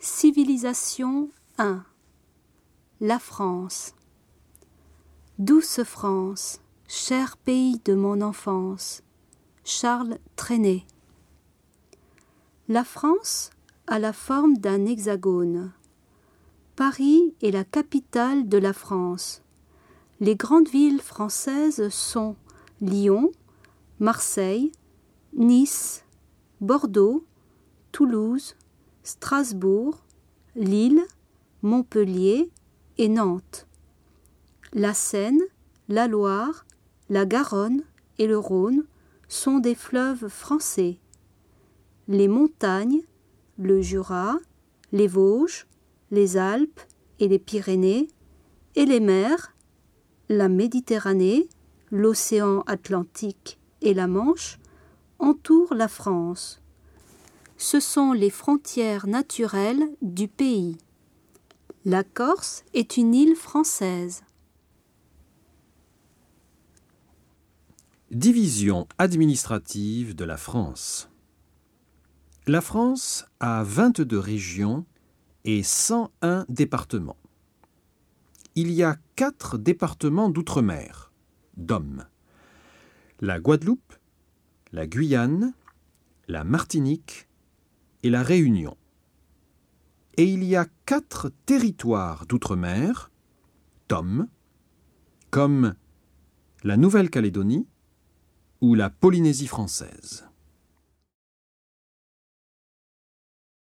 Civilisation 1. La France. Douce France, cher pays de mon enfance. Charles Trenet. La France a la forme d'un hexagone. Paris est la capitale de la France. Les grandes villes françaises sont Lyon, Marseille, Nice, Bordeaux, Toulouse, Strasbourg, Lille, Montpellier et Nantes. La Seine, la Loire, la Garonne et le Rhône sont des fleuves français. Les montagnes, le Jura, les Vosges, les Alpes et les Pyrénées, et les mers, la Méditerranée, l'océan Atlantique et la Manche, entourent la France. Ce sont les frontières naturelles du pays. La Corse est une île française. Division administrative de la France. La France a 22 régions et 101 départements. Il y a 4 départements d'outre-mer, DOM. La Guadeloupe, la Guyane, la Martinique et la Réunion. Et il y a 4 territoires d'outre-mer, TOM, comme la Nouvelle-Calédonie ou la Polynésie française.